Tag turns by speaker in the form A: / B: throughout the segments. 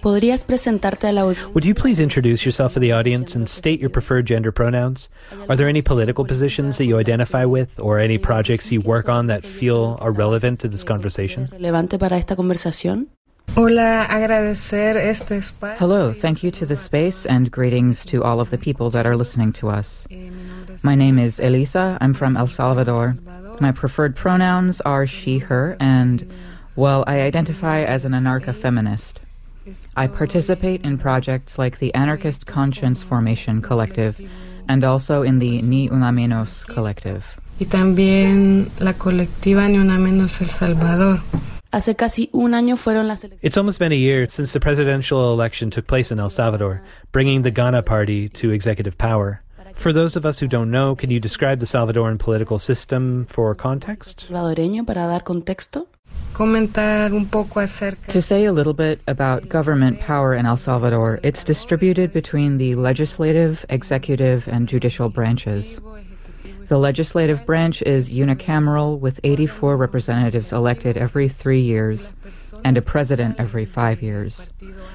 A: ¿Podrías presentarte a la audiencia?
B: Would you please introduce yourself to the audience and state your preferred gender pronouns? Are there any political positions that you identify with or any projects you work on that feel are relevant to this conversation?
A: ¿Relevante para esta conversación?
C: Hola, agradecer este espacio.
D: Hello, thank you to the space and greetings to all of the people that are listening to us. My name is Elisa. I'm from El Salvador. My preferred pronouns are she, her, and, well, I identify as an anarcha-feminist. I participate in projects like the Anarchist Conscience Formation Collective and also in the Ni Una Menos Collective.
C: Y también la colectiva Ni Una Menos El Salvador.
A: Hace casi un año fueron las elecciones.
B: It's almost been a year since the presidential election took place in El Salvador, bringing the Gana Party to executive power. For those of us who don't know, can you describe the Salvadoran political system for context?
A: Salvadoreño, para dar contexto.
C: Comentar un poco acerca.
D: To say a little bit about government power in El Salvador, it's distributed between the legislative, executive, and judicial branches. The legislative branch is unicameral with 84 representatives elected every 3 years and a president every 5 years,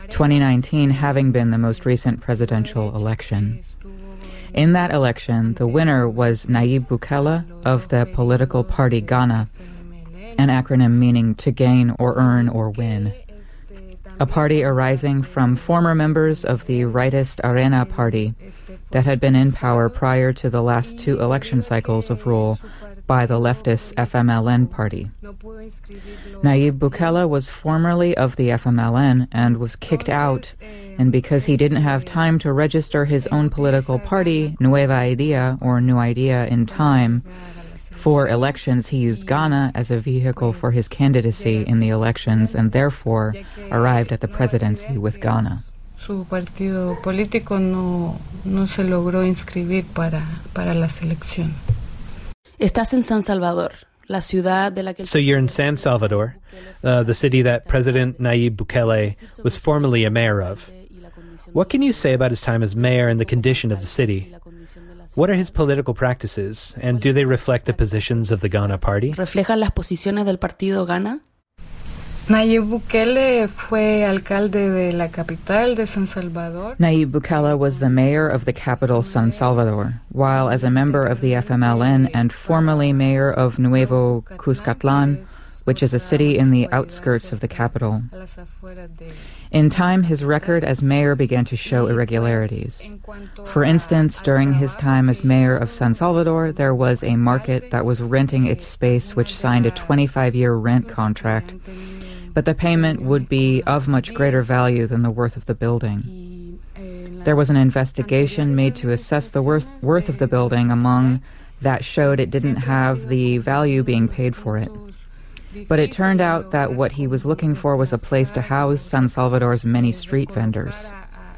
D: 2019 having been the most recent presidential election. In that election, the winner was Nayib Bukele of the political party Gana, an acronym meaning to gain or earn or win, a party arising from former members of the rightist Arena party that had been in power prior to the last 2 election cycles of rule by the leftist FMLN party. Nayib Bukele was formerly of the FMLN and was kicked out, and because he didn't have time to register his own political party, Nueva Idea, or New Idea, in time, for elections, he used Gana as a vehicle for his candidacy in the elections and therefore arrived at the presidency with Gana.
C: Su partido político no se logró inscribir para la selección.
A: Estás en San Salvador, la ciudad de la que...
B: So you're in San Salvador, the city that President Nayib Bukele was formerly a mayor of. What can you say about his time as mayor and the condition of the city? What are his political practices, and do they reflect the positions of the Gana Party?
A: ¿Reflejan las posiciones del partido Gana?
C: Nayib Bukele fue alcalde de la capital de San Salvador.
D: Nayib Bukele was the mayor of the capital San Salvador, while as a member of the FMLN and formerly mayor of Nuevo Cuscatlán, which is a city in the outskirts of the capital. In time, his record as mayor began to show irregularities. For instance, during his time as mayor of San Salvador, there was a market that was renting its space which signed a 25-year rent contract, but the payment would be of much greater value than the worth of the building. There was an investigation made to assess the worth of the building among that showed it didn't have the value being paid for it. But it turned out that what he was looking for was a place to house San Salvador's many street vendors.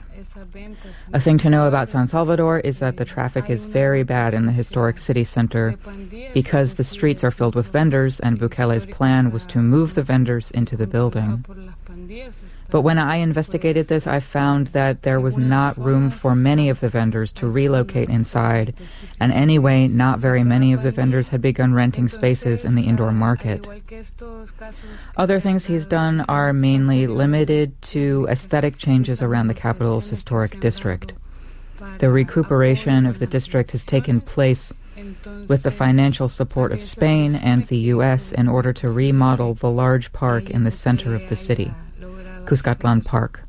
D: A thing to know about San Salvador is that the traffic is very bad in the historic city center because the streets are filled with vendors, and Bukele's plan was to move the vendors into the building. But when I investigated this, I found that there was not room for many of the vendors to relocate inside, and anyway, not very many of the vendors had begun renting spaces in the indoor market. Other things he's done are mainly limited to aesthetic changes around the capital's historic district. The recuperation of the district has taken place with the financial support of Spain and the U.S. in order to remodel the large park in the center of the city, Cuscatlán Park.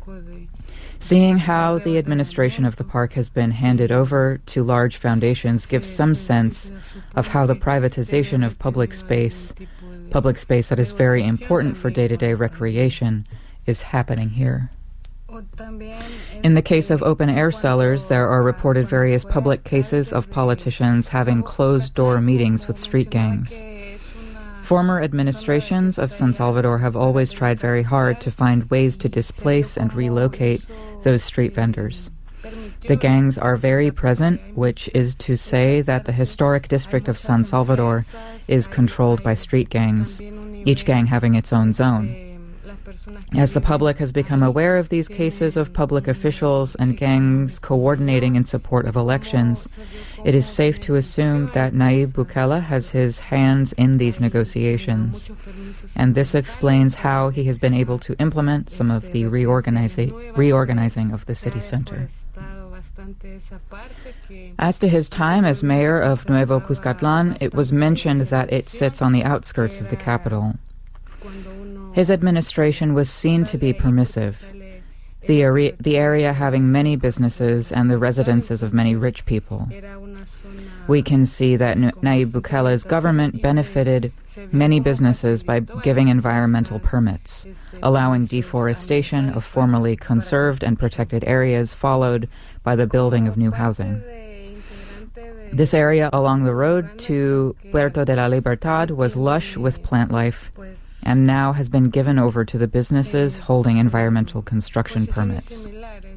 D: Seeing how the administration of the park has been handed over to large foundations gives some sense of how the privatization of public space that is very important for day-to-day recreation, is happening here. In the case of open-air cellars, there are reported various public cases of politicians having closed-door meetings with street gangs. Former administrations of San Salvador have always tried very hard to find ways to displace and relocate those street vendors. The gangs are very present, which is to say that the historic district of San Salvador is controlled by street gangs, each gang having its own zone. As the public has become aware of these cases of public officials and gangs coordinating in support of elections, it is safe to assume that Nayib Bukele has his hands in these negotiations. And this explains how he has been able to implement some of the reorganizing of the city center. As to his time as mayor of Nuevo Cuscatlán, it was mentioned that it sits on the outskirts of the capital. His administration was seen to be permissive, the area having many businesses and the residences of many rich people. We can see that Nayib Bukele's government benefited many businesses by giving environmental permits, allowing deforestation of formerly conserved and protected areas, followed by the building of new housing. This area along the road to Puerto de la Libertad was lush with plant life and now has been given over to the businesses holding environmental construction permits.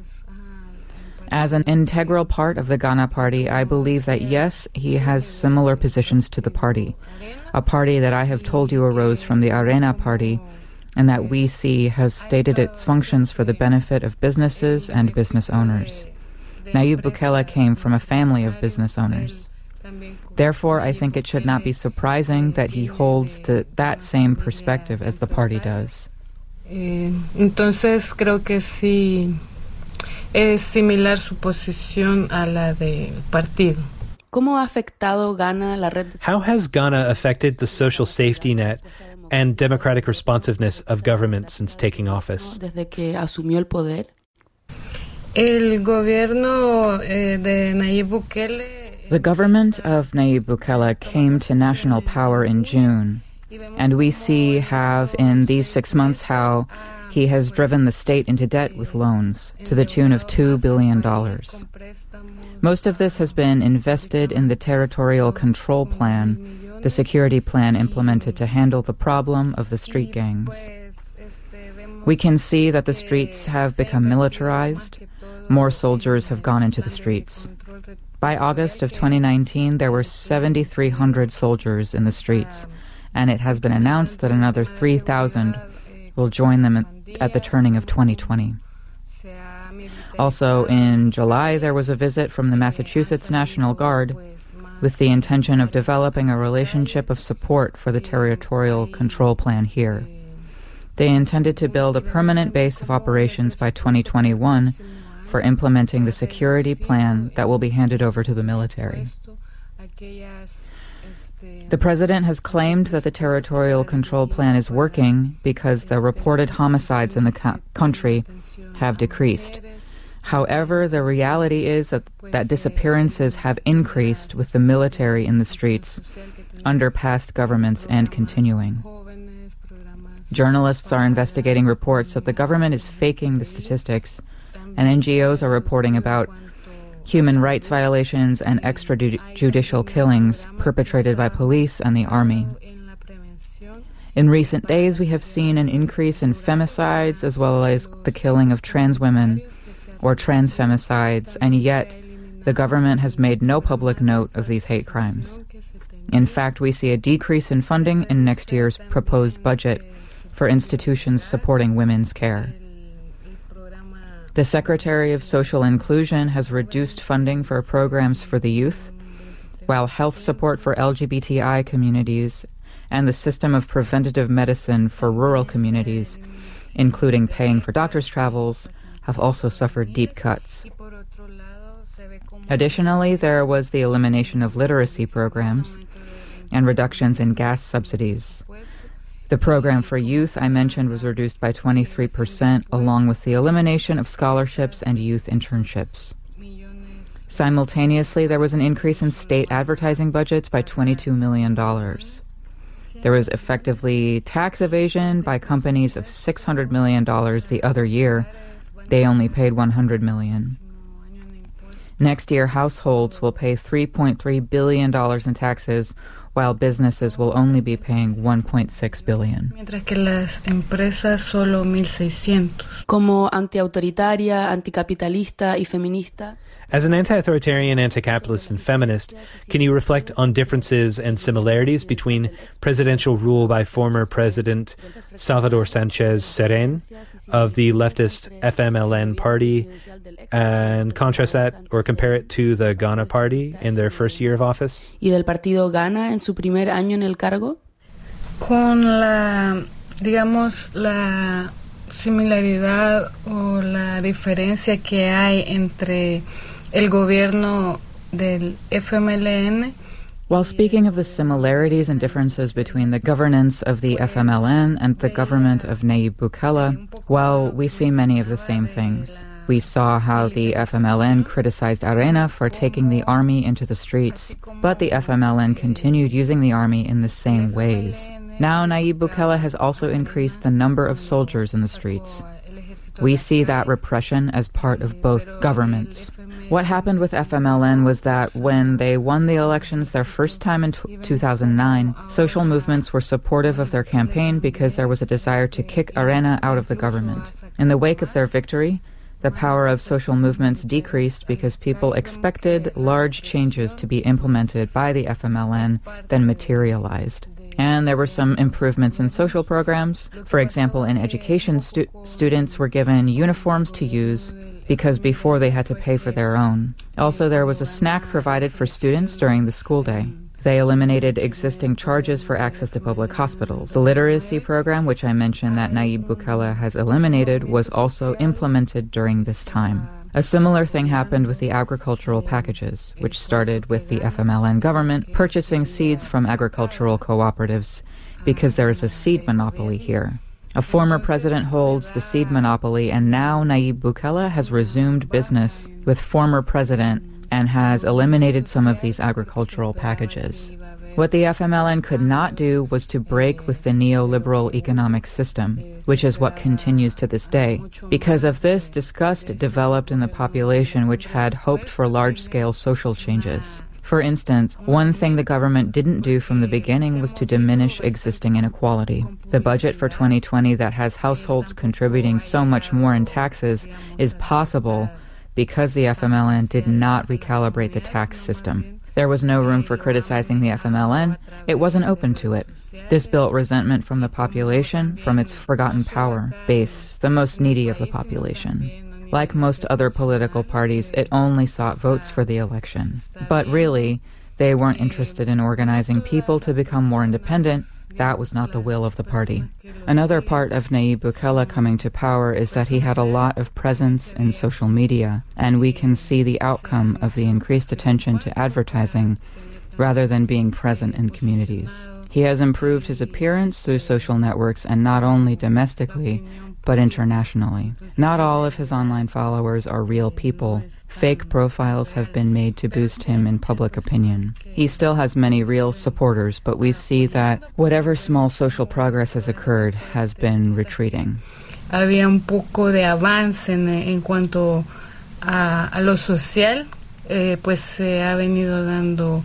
D: As an integral part of the Gana Party, I believe that yes, he has similar positions to the party, a party that I have told you arose from the Arena Party and that we see has stated its functions for the benefit of businesses and business owners. Nayib Bukele came from a family of business owners. Therefore, I think it should not be surprising that he holds that same perspective as the party does.
C: Entonces, creo que sí es similar su posición a la del partido.
A: ¿Cómo ha afectado Ghana la red?
B: How has Ghana affected the social safety net and democratic responsiveness of government since taking office?
A: Desde que asumió el poder.
C: El gobierno de Nayib Bukele.
D: The government of Nayib Bukele came to national power in June, and we have in these 6 months how he has driven the state into debt with loans to the tune of $2 billion. Most of this has been invested in the territorial control plan, the security plan implemented to handle the problem of the street gangs. We can see that the streets have become militarized. More soldiers have gone into the streets. By August of 2019, there were 7,300 soldiers in the streets, and it has been announced that another 3,000 will join them at the turning of 2020. Also, in July, there was a visit from the Massachusetts National Guard with the intention of developing a relationship of support for the territorial control plan here. They intended to build a permanent base of operations by 2021 for implementing the security plan that will be handed over to the military. The president has claimed that the territorial control plan is working because the reported homicides in the country have decreased. However, the reality is that disappearances have increased with the military in the streets under past governments and continuing. Journalists are investigating reports that the government is faking the statistics, and NGOs are reporting about human rights violations and extrajudicial killings perpetrated by police and the army. In recent days, we have seen an increase in femicides as well as the killing of trans women or trans femicides, and yet the government has made no public note of these hate crimes. In fact, we see a decrease in funding in next year's proposed budget for institutions supporting women's care. The Secretary of Social Inclusion has reduced funding for programs for the youth, while health support for LGBTI communities and the system of preventative medicine for rural communities, including paying for doctors' travels, have also suffered deep cuts. Additionally, there was the elimination of literacy programs and reductions in gas subsidies. The program for youth I mentioned was reduced by 23%, along with the elimination of scholarships and youth internships. Simultaneously, there was an increase in state advertising budgets by $22 million. There was effectively tax evasion by companies of $600 million the other year. They only paid $100 million. Next year, households will pay $3.3 billion in taxes, while businesses will only be paying $1.6 billion.
C: Mientras que las empresas solo 1,600.
A: Como antiautoritaria, anticapitalista y feminista.
B: As an anti-authoritarian, anti-capitalist, and feminist, can you reflect on differences and similarities between presidential rule by former President Salvador Sanchez Cerén of the leftist FMLN party and contrast that or compare it to the Ghana party in their first year of office?
A: ¿Y del partido Ghana en su primer año en el cargo?
C: Con la similaridad o la diferencia que hay entre el gobierno del FMLN.
D: While speaking of the similarities and differences between the governance of the FMLN and the government of Nayib Bukele, well, we see many of the same things. We saw how the FMLN criticized Arena for taking the army into the streets, but the FMLN continued using the army in the same ways. Now Nayib Bukele has also increased the number of soldiers in the streets. We see that repression as part of both governments. What happened with FMLN was that when they won the elections their first time in 2009, social movements were supportive of their campaign because there was a desire to kick Arena out of the government. In the wake of their victory, the power of social movements decreased because people expected large changes to be implemented by the FMLN then materialized. And there were some improvements in social programs. For example, in education, students were given uniforms to use because before they had to pay for their own. Also, there was a snack provided for students during the school day. They eliminated existing charges for access to public hospitals. The literacy program, which I mentioned that Nayib Bukele has eliminated, was also implemented during this time. A similar thing happened with the agricultural packages, which started with the FMLN government purchasing seeds from agricultural cooperatives because there is a seed monopoly here. A former president holds the seed monopoly, and now Nayib Bukele has resumed business with former president and has eliminated some of these agricultural packages. What the FMLN could not do was to break with the neoliberal economic system, which is what continues to this day. Because of this, disgust developed in the population which had hoped for large-scale social changes. For instance, one thing the government didn't do from the beginning was to diminish existing inequality. The budget for 2020 that has households contributing so much more in taxes is possible because the FMLN did not recalibrate the tax system. There was no room for criticizing the FMLN. It wasn't open to it. This built resentment from the population, from its forgotten power base, the most needy of the population. Like most other political parties, it only sought votes for the election. But really, they weren't interested in organizing people to become more independent. That was not the will of the party. Another part of Nayib Bukele coming to power is that he had a lot of presence in social media, and we can see the outcome of the increased attention to advertising rather than being present in communities. He has improved his appearance through social networks, and not only domestically, but internationally. Not all of his online followers are real people. Fake profiles have been made to boost him in public opinion. He still has many real supporters, but we see that whatever small social progress has occurred has been retreating.
C: Había un poco de avance en cuanto a lo social, pues se ha venido dando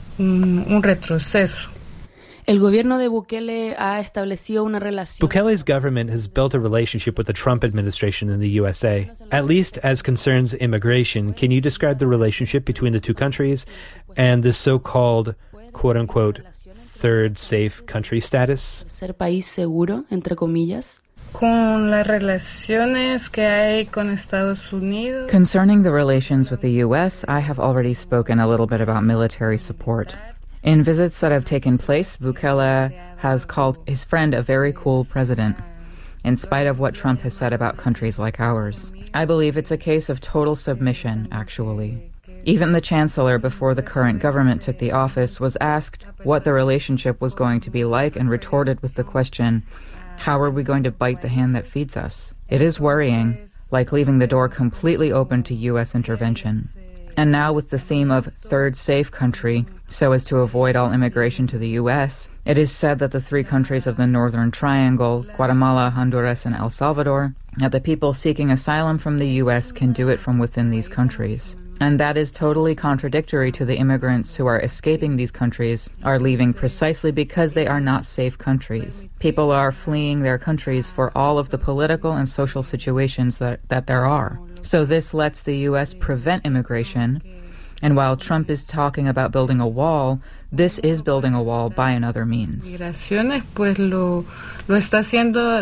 C: un retroceso.
A: El gobierno de Bukele ha establecido una relación.
B: Bukele's government has built a relationship with the Trump administration in the USA. At least as concerns immigration, can you describe the relationship between the two countries and the so-called, quote-unquote, third safe country status?
A: Ser país seguro, entre comillas.
C: Con las relaciones que hay con Estados Unidos.
D: Concerning the relations with the U.S., I have already spoken a little bit about military support. In visits that have taken place, Bukele has called his friend a very cool president, in spite of what Trump has said about countries like ours. I believe it's a case of total submission, actually. Even the chancellor, before the current government took the office, was asked what the relationship was going to be like and retorted with the question, how are we going to bite the hand that feeds us? It is worrying, like leaving the door completely open to U.S. intervention. And now with the theme of third safe country, so as to avoid all immigration to the U.S., it is said that the three countries of the Northern Triangle, Guatemala, Honduras, and El Salvador, that the people seeking asylum from the U.S. can do it from within these countries. And that is totally contradictory to the immigrants who are escaping these countries, are leaving precisely because they are not safe countries. People are fleeing their countries for all of the political and social situations that there are. So this lets the U.S. prevent immigration. And while Trump is talking about building a wall, this is building a wall by another means.
C: Migraciones, pues lo está haciendo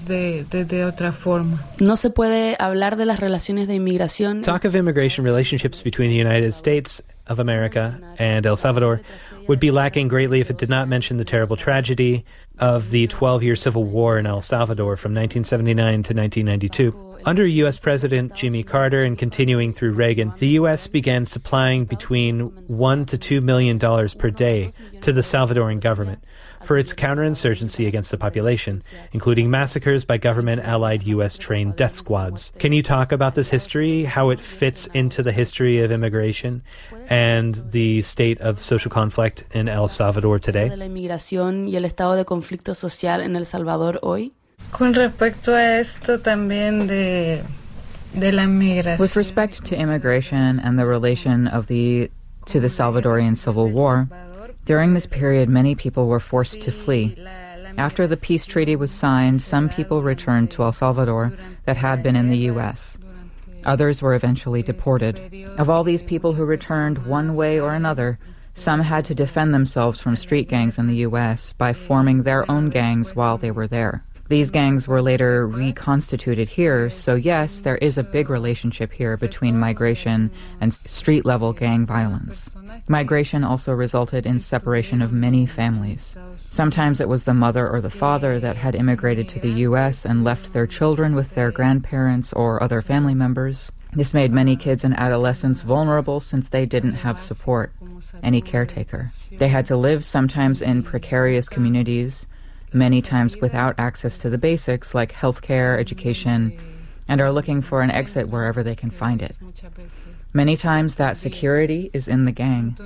C: desde otra forma.
A: No se puede hablar de las relaciones de inmigración.
B: Talk of immigration relationships between the United States of America and El Salvador would be lacking greatly if it did not mention the terrible tragedy of the 12-year civil war in El Salvador from 1979 to 1992. Under U.S. President Jimmy Carter and continuing through Reagan, the U.S. began supplying between $1 to $2 million per day to the Salvadoran government for its counterinsurgency against the population, including massacres by government-allied U.S.-trained death squads. Can you talk about this history, how it fits into the history of immigration and the state of social conflict in El Salvador today?
A: De la inmigración y el estado de conflicto social en El Salvador hoy.
C: Con respecto a esto también de la migración.
D: With respect to immigration and the relation to the Salvadorian Civil War, during this period many people were forced to flee. After the peace treaty was signed, some people returned to El Salvador that had been in the U.S. Others were eventually deported. Of all these people who returned one way or another, some had to defend themselves from street gangs in the U.S. by forming their own gangs while they were there. These gangs were later reconstituted here, so yes, there is a big relationship here between migration and street-level gang violence. Migration also resulted in separation of many families. Sometimes it was the mother or the father that had immigrated to the U.S. and left their children with their grandparents or other family members. This made many kids and adolescents vulnerable since they didn't have support, any caretaker. They had to live sometimes in precarious communities, many times without access to the basics like healthcare, education, and are looking for an exit wherever they can find it. Many times that security is in the gang.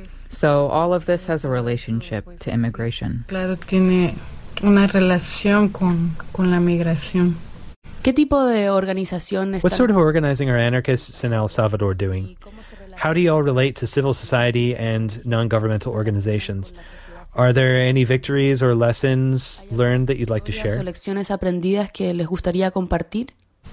D: So all of this has a relationship to immigration.
C: Claro, tiene una relación con la migración.
A: ¿Qué tipo de organización
B: What sort of organizing are anarchists in El Salvador doing? How do you all relate to civil society and non-governmental organizations? Are there any victories or lessons learned that you'd like to share?
A: ¿Lecciones aprendidas que les gustaría compartir?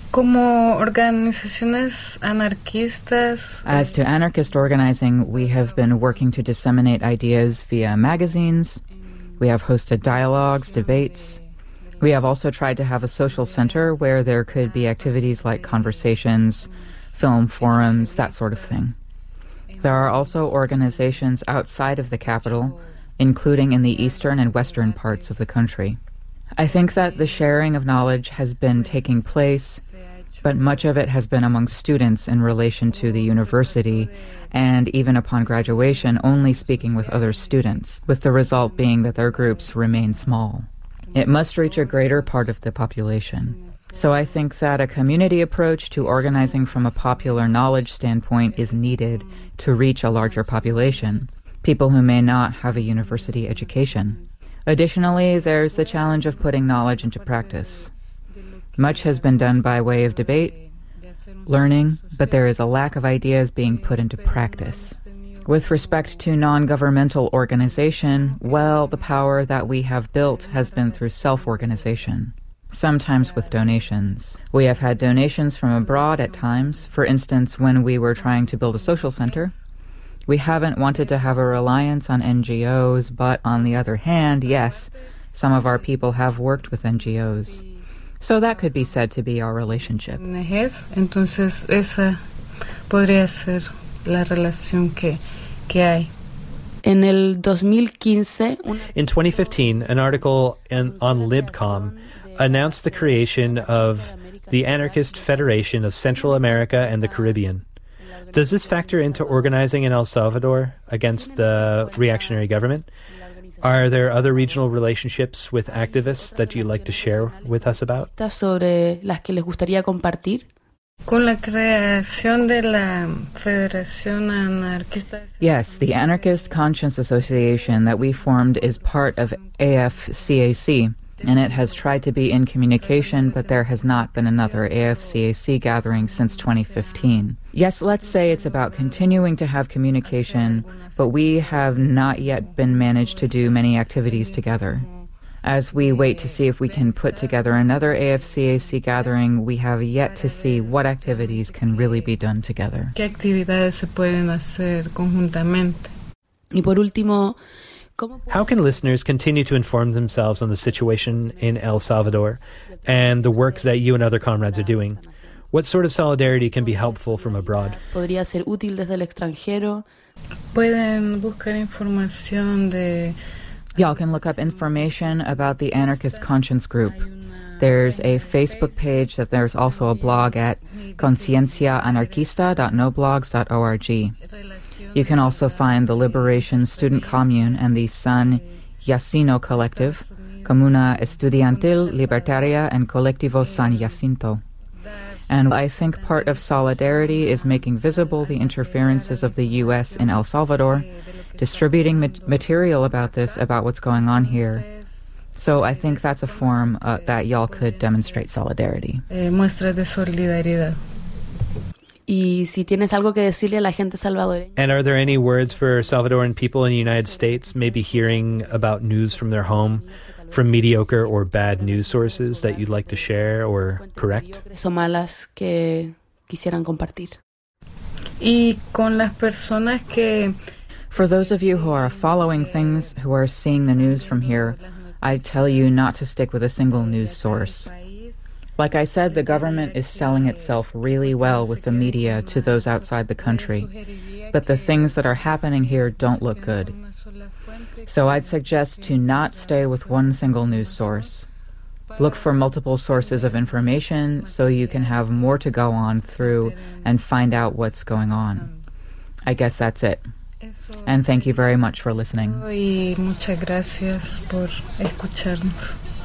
C: Como organizaciones anarquistas.
D: As to anarchist organizing, we have been working to disseminate ideas via magazines. We have hosted dialogues, debates. We have also tried to have a social center where there could be activities like conversations, film forums, that sort of thing. There are also organizations outside of the capital, including in the eastern and western parts of the country. I think that the sharing of knowledge has been taking place, but much of it has been among students in relation to the university, and even upon graduation, only speaking with other students, with the result being that their groups remain small. It must reach a greater part of the population. So I think that a community approach to organizing from a popular knowledge standpoint is needed to reach a larger population, people who may not have a university education. Additionally, there's the challenge of putting knowledge into practice. Much has been done by way of debate, learning, but there is a lack of ideas being put into practice. With respect to non-governmental organization, well, the power that we have built has been through self-organization, sometimes with donations. We have had donations from abroad at times. For instance, when we were trying to build a social center, we haven't wanted to have a reliance on NGOs, but on the other hand, yes, some of our people have worked with NGOs. So that could be said to be our relationship.
C: Entonces, esa podría ser la relación que hay.
A: En el 2015,
B: In 2015, an article on Libcom announced the creation of the Anarchist Federation of Central America and the Caribbean. Does this factor into organizing in El Salvador against the reactionary government? Are there other regional relationships with activists that you'd like to share with us about?
A: sobre las que les gustaría compartir.
C: Con la creación de la Federación Anarquista.
D: Yes, the Anarchist Conscience Association that we formed is part of AFCAC, and it has tried to be in communication, but there has not been another AFCAC gathering since 2015. Yes, let's say it's about continuing to have communication, but we have not yet been managed to do many activities together. As we wait to see if we can put together another AFCAC gathering, we have yet to see what activities can really be done together.
C: ¿Qué actividades se pueden hacer conjuntamente?
A: Y por último,
B: how can listeners continue to inform themselves on the situation in El Salvador and the work that you and other comrades are doing? What sort of solidarity can be helpful from abroad?
A: Podría ser útil desde el extranjero.
C: Pueden buscar información de...
D: Y'all can look up information about the Anarchist Conscience Group. There's a Facebook page that there's also a blog at concienciaanarquista.noblogs.org. You can also find the Liberation Student Commune and the San Jacinto Collective, Comuna Estudiantil Libertaria and Colectivo San Jacinto. And I think part of solidarity is making visible the interferences of the U.S. in El Salvador, distributing material about this, about what's going on here. So I think that's a form that y'all could demonstrate solidarity.
C: Muestras de solidaridad.
A: Y si tienes algo que decirle a la gente salvadoreña.
B: And are there any words for Salvadoran people in the United States, maybe hearing about news from their home, from mediocre or bad news sources that you'd like to share or correct?
A: O malas que quisieran compartir.
C: Y con las personas que...
D: For those of you who are following things, who are seeing the news from here, I tell you not to stick with a single news source. Like I said, the government is selling itself really well with the media to those outside the country. But the things that are happening here don't look good. So I'd suggest to not stay with one single news source. Look for multiple sources of information so you can have more to go on through and find out what's going on. I guess that's it. And thank you very much for listening.
C: Y muchas gracias por escucharnos.